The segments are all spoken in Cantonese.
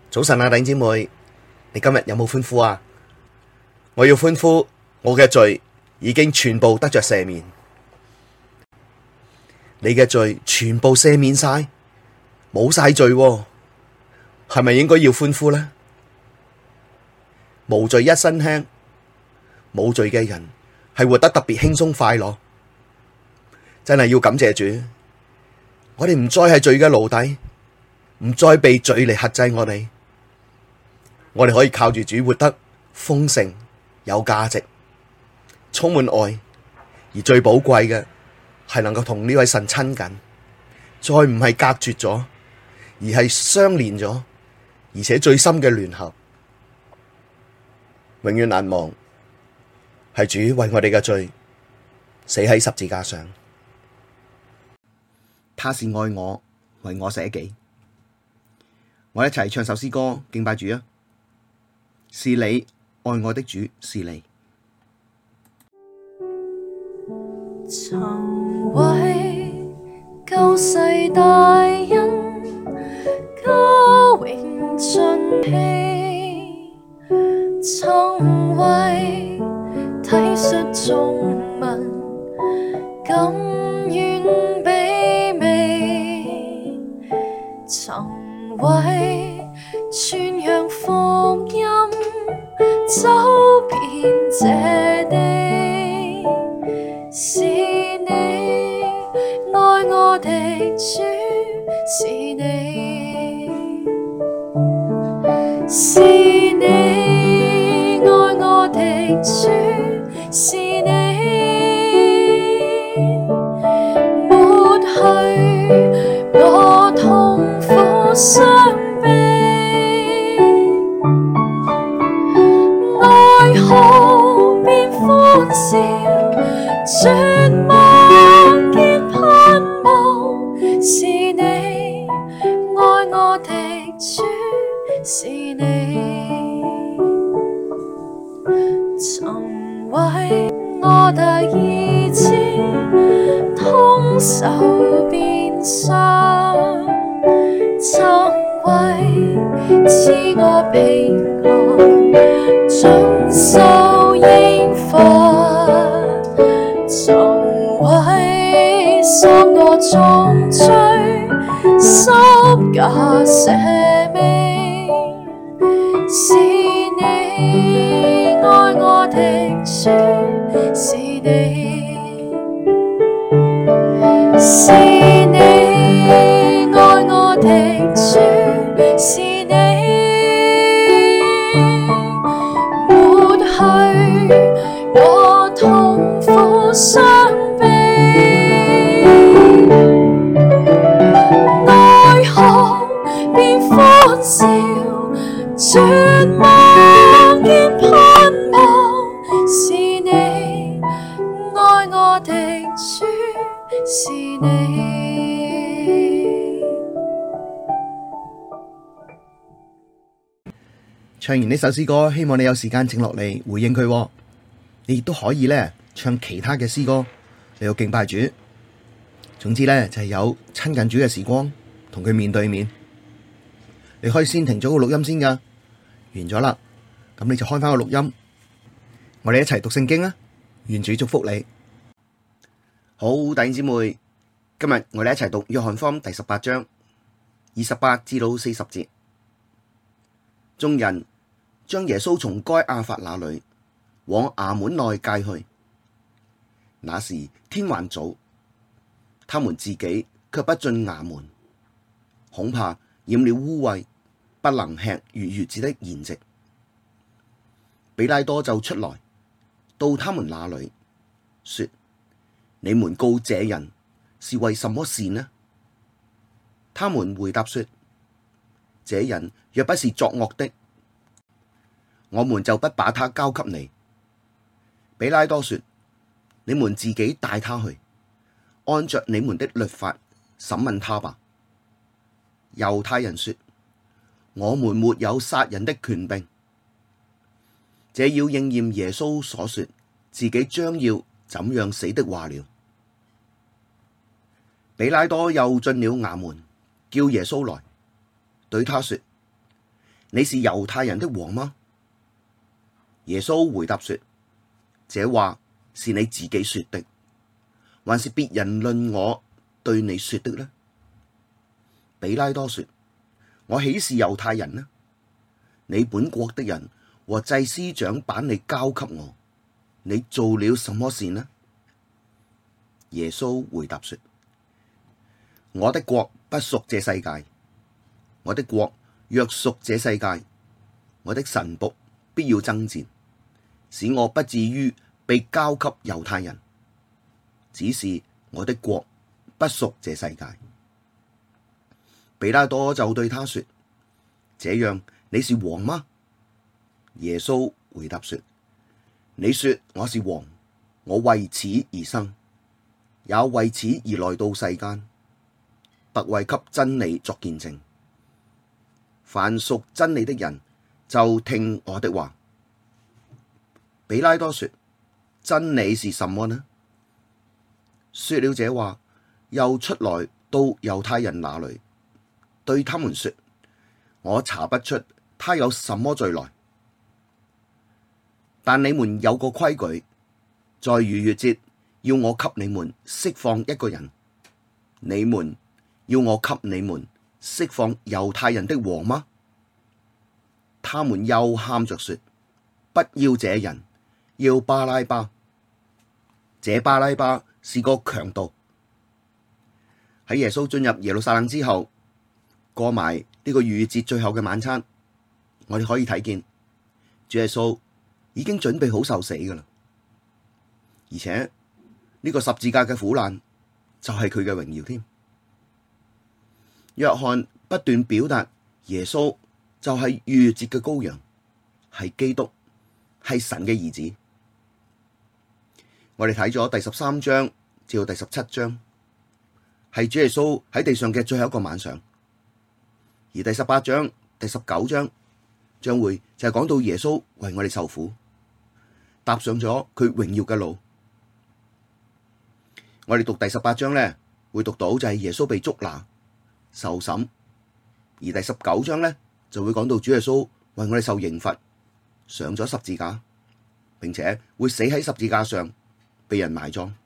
早晨啊，弟兄姊妹，你今日有冇歡呼啊？我要歡呼，我嘅罪已經全部得着赦免，你嘅罪全部赦免晒，冇晒罪喎，係咪應該要歡呼呢？無罪一身輕，冇罪嘅人係活得特別輕鬆快樂，真係要感謝主，我哋唔再係罪嘅奴隸，唔再被罪嚟轄制我哋可以靠住主活得豐盛、有價值、充滿愛，而最寶貴嘅係能夠同呢位神親近，再唔係隔絕咗，而係相連咗，而且最深嘅聯合，永遠難忘係主為我哋嘅罪死喺十字架上，他是愛我，為我捨己。我一齊唱首詩歌敬拜主啊！是你愛我的主，是你曾為救世大恩，家榮盡棄，曾為體恤眾民，甘願卑微，曾為傳揚福音，走遍這地，是你愛我的主，是你，是你愛我的主，是你，抹去我痛苦傷悲。哀號變歡笑，絕望見盼望，是你愛我的主，是你，曾為我得醫治，痛受鞭傷，曾為賜我平安，遵守刑罰，曾為贖我重罪，十架捨命，是你愛我的主，是你，是你愛我的主，是你，抹去我痛苦傷悲，哀號變歡笑，絕望見盼望，是你愛我的主，是你。 唱完呢首詩歌，希望你有時間靜落嚟回應佢。你亦都可以咧唱其他嘅詩歌，你要敬拜主。總之咧就係有親近主嘅時光，同佢面對面。你可以先停咗個錄音先噶，完咗啦，咁你就開翻個錄音，我哋一齊讀聖經啊！願主祝福你。好，弟兄姊妹，今日我哋一齊讀約翰福音第18章28至到40節。眾人將耶穌從該亞法那裡往衙門內介去，那時天還早，他們自己卻不進衙門，恐怕染了污穢，不能吃逾越節的筵席。比拉多就出來到他們那裡，說：你們告這人是為什麼事呢？他們回答說：這人若不是作惡的，我們就不把他交給你。比拉多說：你們自己帶他去，按着你們的律法審問他吧。猶太人說：我們沒有殺人的權柄。這要應驗耶穌所說自己將要怎樣死的話了。比拉多又進了衙門，叫耶穌來，對他說： 你是猶太人的王嗎？耶穌回答說：這話是你自己說的，還是別人論我對你說的呢？比拉多說：我豈是猶太人呢？你本國的人和祭司長把你交給我，你做了什麼事呢？耶穌回答說：我的國不屬這世界。我的國若屬這世界，我的臣僕必要爭戰，使我不至於被交給猶太人。只是我的國不屬這世界。比拉多就對他說：這樣你是王嗎？耶穌回答說：你說我是王，我為此而生，也為此而來到世間，特為給真理作見證。凡屬真理的人，就聽我的話。比拉多說：真理是什麼呢？說了這話，又出來到猶太人那裡，對他們說：我查不出他有什麼罪來。但你們有個規矩，在逾越節要我給你們釋放一個人，你們要我給你們釋放猶太人的王嗎？他們又喊着說：不要這人，要巴拉巴。這巴拉巴是個強盜。喺耶穌進入耶路撒冷之後，過埋呢個逾越節最後嘅晚餐，我哋可以睇見主耶穌已經準備好受死噶啦，而且呢個十字架嘅苦難就係佢嘅榮耀添。約翰不斷表達耶穌就係逾越節嘅羔羊，係基督，係神嘅兒子。我哋睇咗第13章至到第17章，係主耶穌喺地上嘅最後一個晚上，而第18章、第19章將會就係講到耶穌為我哋受苦，踏上咗佢榮耀嘅路。我哋讀第18章咧，會讀到就係耶穌被捉拿、受審，而第19章咧就會講到主耶穌為我哋受刑罰，上咗十字架，並且會死喺十字架上，被人埋葬。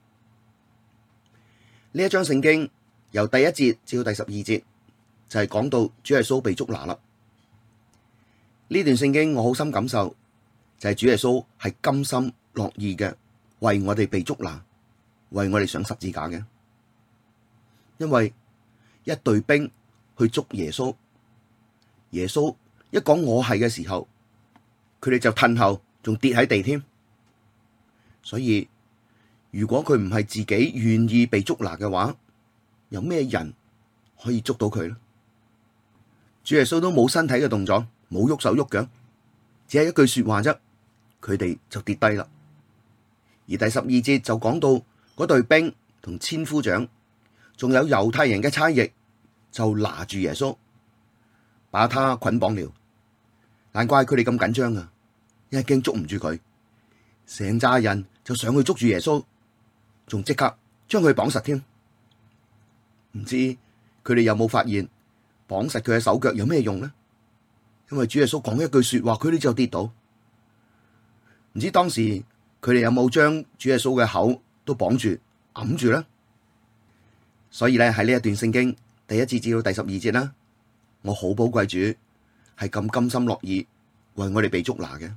呢一章聖經由第1節至到第12節就係講到主耶穌被捉拿啦。呢段聖經我好深感受，就係主耶穌係甘心樂意嘅為我哋被捉拿，為我哋上十字架嘅。因為一隊兵去捉耶穌，耶穌一講我係嘅時候，佢哋就褪後，仲跌喺地添。所以如果佢唔係自己願意被捉拿嘅話，有咩人可以捉到佢呢？主耶穌都冇身體嘅動作，冇喐手喐腳，只係一句說話啫，佢哋就跌低啦。而第12節就講到嗰隊兵同千夫長，仲有猶太人嘅差役，就拿住耶穌，把他捆綁了。難怪佢哋咁緊張啊，因為驚捉唔住佢，成扎人就上去捉住耶穌，仲即刻將佢綁實添。唔知佢哋有冇發現綁實佢嘅手腳有咩用呢？因為主耶穌講一句說話，佢哋就跌倒。唔知當時佢哋有冇將主耶穌嘅口都綁住揞住呢？所以咧喺呢一段聖經第1節至到第12節啦，我好寶貴主係咁甘心樂意為我哋被捉拿嘅。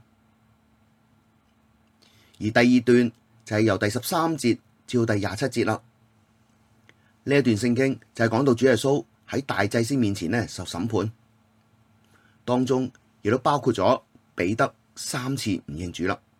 而第2段就係由第13節至到第27節啦。呢一段聖經就係講到主耶穌喺大祭司面前咧受審判，當中亦都包括咗彼得3次唔認主啦。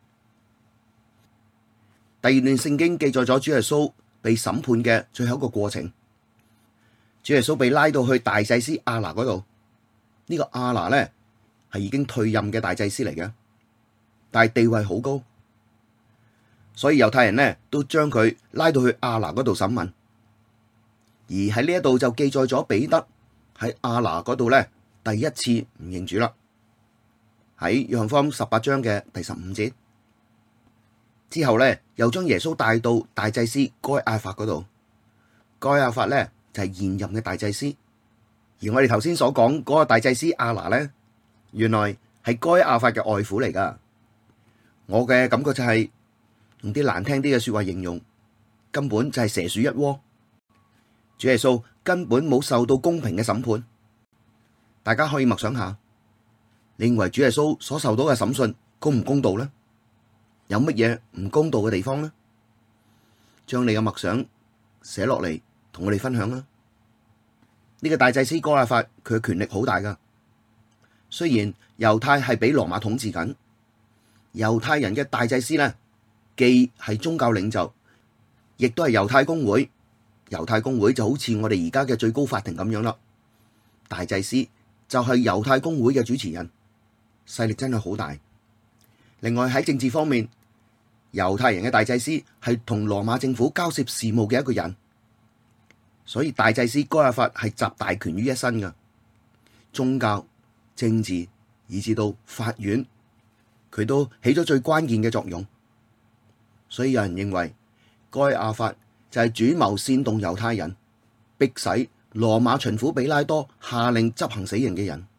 第2段聖經記載咗主耶穌被審判嘅最後一個過程。主耶穌被拉到去大祭司亞拿嗰度，呢個亞拿咧係已經退任嘅大祭司嚟嘅，但係地位好高，所以猶太人咧都將佢拉到去亞拿嗰度審問。而喺呢一度就記載咗彼得喺亞拿嗰度咧第一次唔認主啦。喺約翰福音18章嘅第15節之後咧，又將耶穌帶到大祭司該亞法嗰度。該亞法咧就係現任嘅大祭司，而我哋頭先所講嗰個大祭司亞拿咧原來係該亞法嘅外父嚟噶。我嘅感覺就係用啲難聽啲嘅說話形容，根本就係蛇鼠一窩。主耶穌根本冇受到公平嘅審判。大家可以默想下，你認為主耶穌所受到嘅審訊公唔公道呢？有乜嘢唔公道嘅地方呢？將你嘅默想寫落嚟，同我哋分享啦。呢個大祭司該亞法，佢嘅權力好大噶。雖然猶太係俾羅馬統治緊，猶太人嘅大祭司呢，既係宗教領袖，亦都係猶太公會。猶太公會就好似我哋而家嘅最高法庭咁樣啦。大祭司就係猶太公會嘅主持人，勢力真係好大。另外喺政治方面，猶太人嘅大祭司係同羅馬政府交涉事務嘅一個人，所以大祭司該亞法係集大權於一身噶。宗教、政治以至到法院，佢都起咗最關鍵嘅作用。所以有人認為該亞法就係主謀煽動猶太人，迫使羅馬巡撫比拉多下令執行死刑嘅人。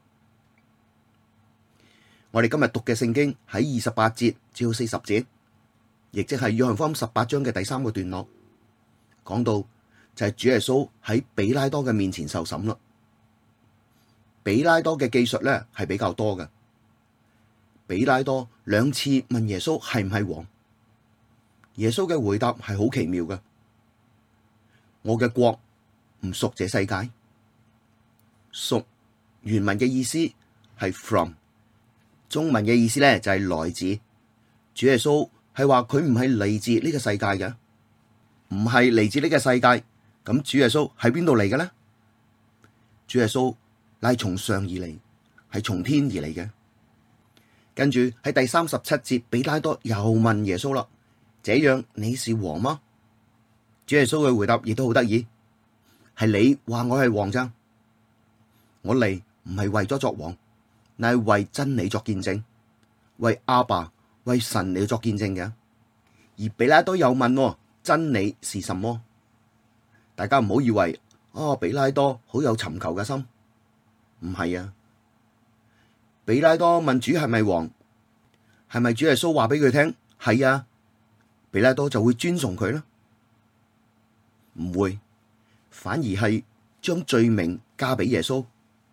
我哋今日讀嘅聖經喺28節至到40節，亦即係約翰福音18章嘅第3個段落，講到就係主耶穌喺比拉多嘅面前受審啦。比拉多嘅記述咧係比較多嘅。比拉多2次問耶穌係唔係王，耶穌嘅回答係好奇妙嘅。我嘅國唔屬這世界。屬原文嘅意思係 from， 中文嘅意思咧就係來自。主耶穌係話佢唔係嚟自呢個世界嘅，唔係嚟自呢個世界。咁主耶穌喺邊度嚟嘅呢？主耶穌乃係從上而嚟，係從天而嚟嘅。跟住喺第37節，比拉多又問耶穌啦：這樣你是王嗎？主耶穌嘅回答亦都好得意，係你話我係王咋？我嚟唔係為咗作王，乃係為真理作見證，為阿爸、為神嚟作見證嘅。而比拉多又問：真理是什麼？大家唔好以為比拉多好有尋求嘅心，唔係啊。比拉多問主係咪王，係咪主耶穌話俾佢聽係啊？比拉多就會尊崇佢啦？唔會，反而係將罪名加俾耶穌。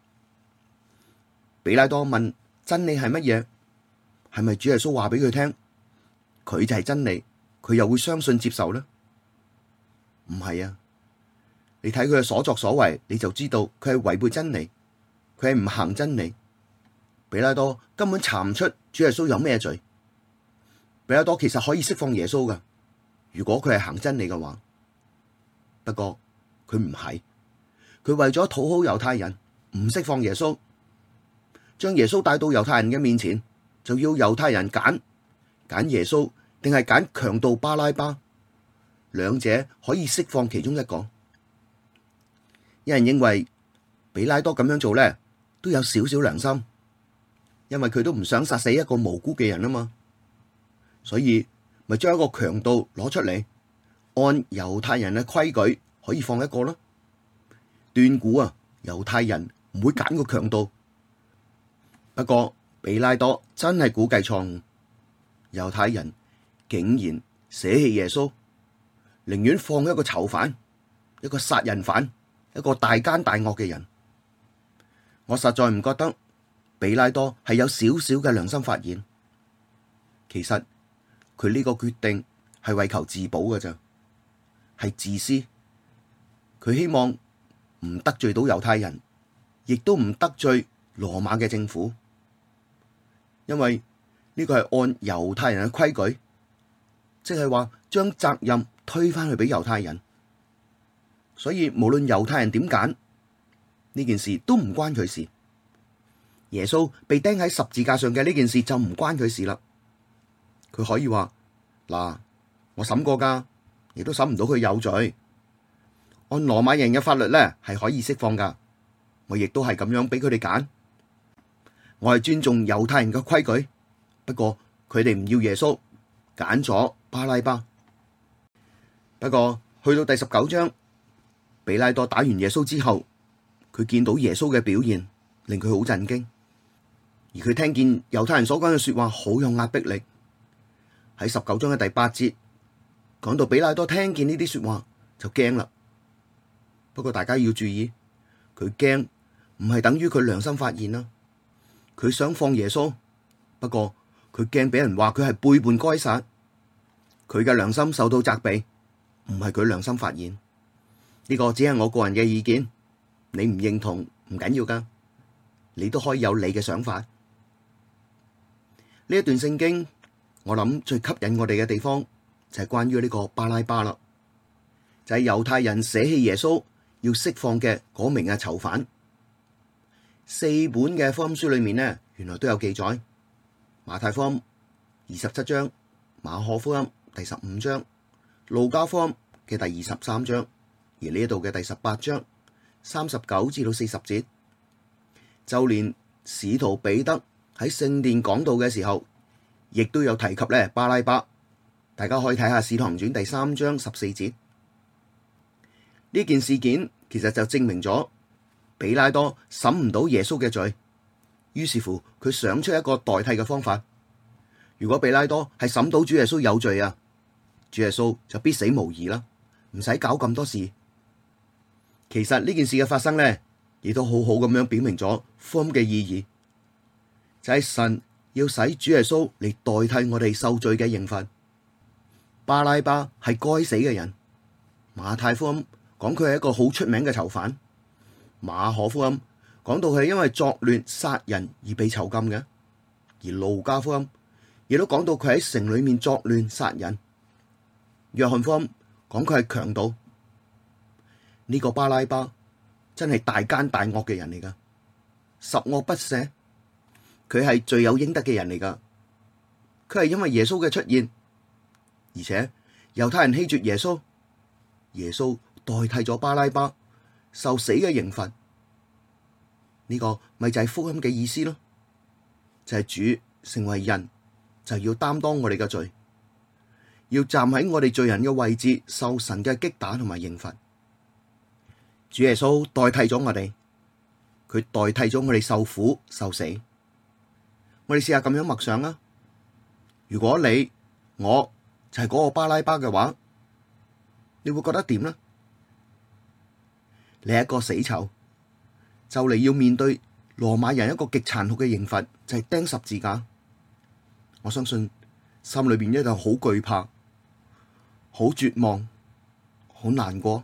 比拉多問真理係乜嘢？係咪主耶穌話俾佢聽佢就係真理？佢又會相信接受呢？唔係啊。你睇佢嘅所作所為，你就知道佢係違背真理，佢係唔行真理。比拉多根本查唔出主耶穌有咩罪。比拉多其實可以釋放耶穌噶，如果佢係行真理嘅話。不過佢唔係，佢為咗討好猶太人，唔釋放耶穌，將耶穌帶到猶太人嘅面前，就要猶太人揀耶穌定係揀強盜巴拉巴，兩者可以釋放其中一個。有人認為比拉多咁樣做咧，都有少少良心，因為佢都唔想殺死一個無辜嘅人啊嘛，所以咪將一個強盜攞出嚟，按猶太人嘅規矩可以放一個咯。斷估啊，猶太人唔會揀個強盜。不過比拉多真係估計錯誤，猶太人竟然捨棄耶穌，寧願放一個囚犯，一個殺人犯，一個大奸大惡嘅人。我實在唔覺得比拉多係有少少嘅良心發現。其實佢呢個決定係為求自保㗎咋，係自私。佢希望唔得罪到猶太人，亦都唔得罪羅馬嘅政府，因為呢個係按猶太人嘅規矩，即係話將責任推返去俾猶太人。所以無論猶太人點揀，呢件事都唔關佢事。耶穌被釘喺十字架上嘅呢件事就唔關佢事啦。佢可以話嗱，我審過噶，亦都審唔到佢有罪。按羅馬人嘅法律咧，係可以釋放噶。我亦都係咁樣俾佢哋揀。我係尊重猶太人嘅規矩，不過佢哋唔要耶穌，揀咗巴拉巴。不過去到第19章，比拉多打完耶穌之後，佢見到耶穌嘅表現，令佢好震驚。 而佢聽見猶太人所講嘅說話好有壓迫力。喺19章嘅第8節講到比拉多聽見呢啲說話就驚啦。不過大家要注意，佢驚唔係等於佢良心發現啦。佢想放耶穌，不過佢驚俾人話佢係背叛該撒，佢嘅良心受到責備，唔係佢良心發現。呢個只係我個人嘅意見，你唔認同唔緊要噶，你都可以有你嘅想法。呢一段聖經，我諗最吸引我哋嘅地方就係關於呢個巴拉巴啦，就係猶太人捨棄耶穌要釋放嘅嗰名嘅囚犯。4本嘅福音書裏面呢，原來都有記載。馬太福音27章、馬可福音第15章、路加福音嘅第23章，而呢一度嘅第18章39至到40節，就連使徒彼得喺聖殿講道嘅時候，亦都有提及咧巴拉巴。大家可以睇下《使徒行傳》第3章14節。呢件事件其實就證明咗比拉多審唔到耶穌嘅罪，於是乎佢想出一個代替嘅方法。如果比拉多係審到主耶穌有罪啊，主耶穌就必死無疑啦，唔使搞咁多事。其實呢件事嘅發生呢，亦都好好咁樣表明咗福音嘅意義，就係神要使主耶穌嚟代替我哋受罪嘅刑罰。巴拉巴係該死嘅人，馬太福音講佢係一個好出名嘅囚犯，馬可福音講到佢係因為作亂殺人而被囚禁嘅，而路加福音亦都講到佢喺城裏面作亂殺人，約翰福音講佢係強盜。呢個巴拉巴真係大奸大惡嘅人嚟噶，十惡不赦，佢係罪有應得嘅人嚟噶。佢係因為耶穌嘅出現，而且猶太人棄絕耶穌，耶穌代替咗巴拉巴受死嘅刑罰。呢個咪就係福音嘅意思咯，就係主成為人就要擔當我哋嘅罪，要站喺我哋罪人嘅位置受神嘅擊打同埋刑罰。主耶穌代替咗我哋，佢代替咗我哋受苦受死。我哋試下咁樣默想啦，如果你我就係嗰個巴拉巴嘅話，你會覺得點呢？你係一個死囚，就嚟要面對羅馬人一個極殘酷嘅刑罰，就係釘十字架。我相信心裏邊一定好懼怕、好絕望、好難過。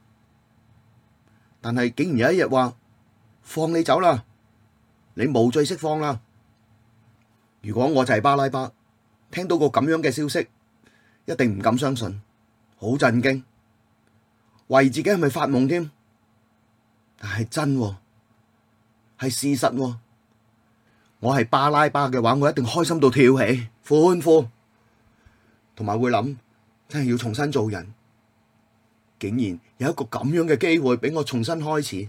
但係竟然有一日話放你走啦，你無罪釋放啦。如果我就係巴拉巴，聽到個咁樣嘅消息，一定唔敢相信，好震驚，懷疑自己係咪發夢添？但係真喎，係事實喎。我係巴拉巴嘅話，我一定開心到跳起歡呼，同埋會諗真係要重新做人。竟然有一個咁樣嘅機會俾我重新開始。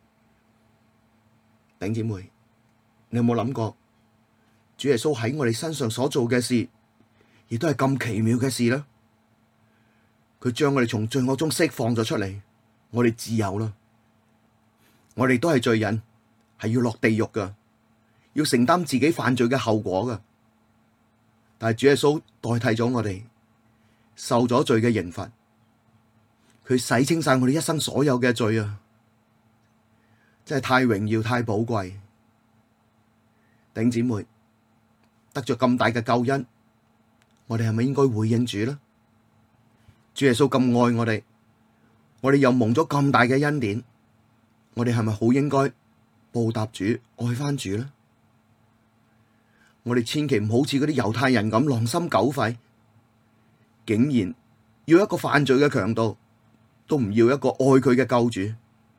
弟兄姊妹，你有冇諗過主耶穌喺我哋身上所做嘅事，亦都係咁奇妙嘅事呢？佢將我哋從罪惡中釋放咗出嚟，我哋自由啦。我哋都係罪人，係要落地獄噶，要承擔自己犯罪嘅後果噶。但係主耶穌代替咗我哋，受咗罪嘅刑罰。佢洗清晒我哋一生所有嘅罪啊！真係太榮耀、太寶貴。弟兄姊妹，得咗咁大嘅救恩，我哋係咪應該回應主呢？主耶穌咁愛我哋又蒙咗咁大嘅恩典，我哋係咪好應該報答主、愛返主呢？我哋千祈唔好似嗰啲猶太人咁狼心狗肺，竟然要一個犯罪嘅強盜，都唔要一個愛佢嘅救主。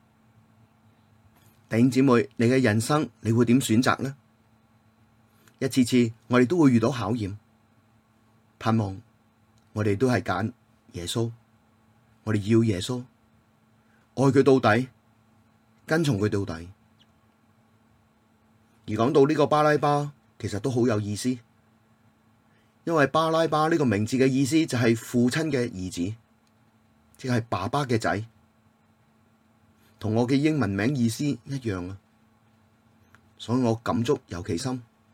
弟兄姊妹，你嘅人生你會點選擇呢？一次次我哋都會遇到考驗，盼望我哋都係揀耶穌，我哋要耶穌，愛佢到底，跟從佢到底。而講到呢個巴拉巴，其實都好有意思，因為巴拉巴呢個名字嘅意思就係父親嘅兒子。即係爸爸嘅仔，同我嘅英文名意思一樣啊，所以我感觸尤其深。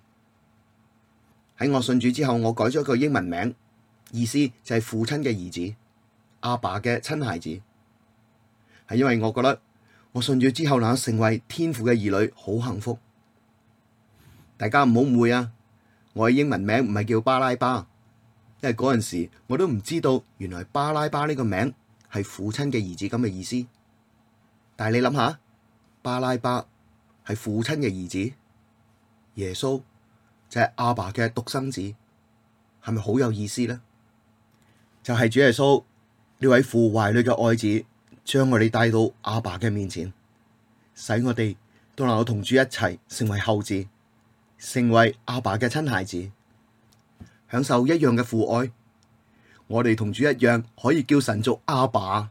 喺我信主之後，我改咗個英文名，意思就係父親嘅兒子，阿爸嘅親孩子。係因為我覺得我信主之後能夠成為天父嘅兒女，好幸福。大家唔好誤會啊，我嘅英文名唔係叫巴拉巴，因為嗰陣時我都唔知道原來巴拉巴呢個名係父親嘅兒子咁嘅意思。但係你諗下，巴拉巴係父親嘅兒子，耶穌就係阿爸嘅獨生子，係咪好有意思呢？就係主耶穌呢位父懷裡嘅愛子，將我哋帶到阿爸嘅面前，使我哋都能夠同主一齊成為後嗣，成為阿爸嘅親孩子，享受一樣嘅父愛。我哋同主一樣，可以叫神做阿爸。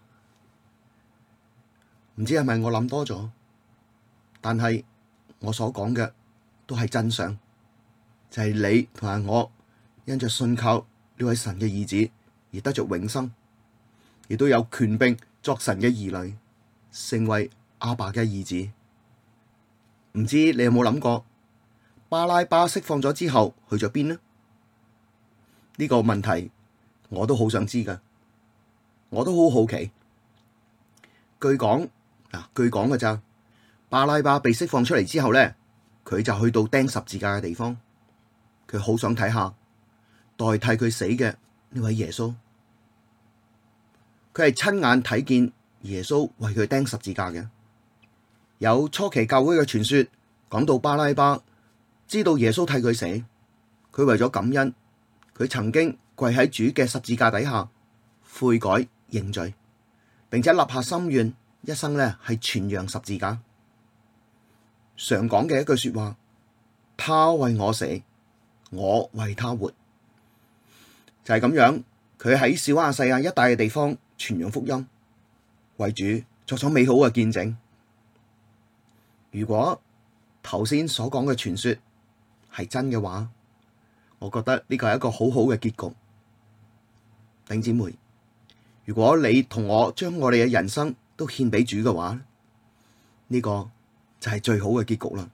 唔知係咪我諗多咗？但係我所講嘅都係真相，就係你同埋我因着信靠呢位神嘅兒子而得着永生，亦都有權柄作神嘅兒女，成為阿爸嘅兒子。唔知你有冇諗過，巴拉巴釋放咗之後去咗邊呢？呢個問題我都好想知噶，我都好好奇。據講嘅咋，巴拉巴被釋放出嚟之後咧，佢就去到釘十字架嘅地方，佢好想睇下代替佢死嘅呢位耶穌。佢係親眼睇見耶穌為佢釘十字架嘅。有初期教會嘅傳說講到巴拉巴知道耶穌替佢死，佢為咗感恩，佢曾經跪喺主嘅十字架底下悔改認罪，並且立下心願，一生咧係傳揚十字架。常講嘅一句說話，他為我死，我為他活，就係咁樣。佢喺小亞細亞一帶嘅地方傳揚福音，為主作咗美好嘅見證。如果頭先所講嘅傳說係真嘅話，我覺得呢個係一個好好嘅結局。弟兄姊妹，如果你同我將我哋嘅人生都獻俾主嘅話，呢個就係最好嘅結局啦。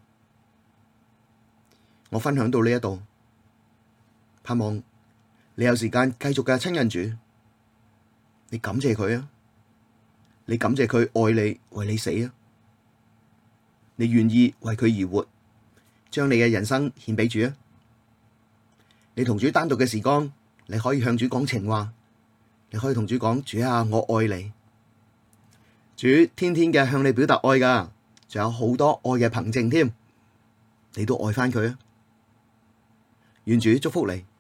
我分享到呢一度，盼望你有時間繼續嘅親近主，你感謝佢啊，你感謝佢愛你，為你死啊，你願意為佢而活，將你嘅人生獻俾主啊。你同主單獨嘅時光，你可以向主講情話，你可以同主講：主啊，我愛你。主天天嘅向你表達愛噶，仲有好多愛嘅憑證添，你都愛翻佢啊。願主祝福你。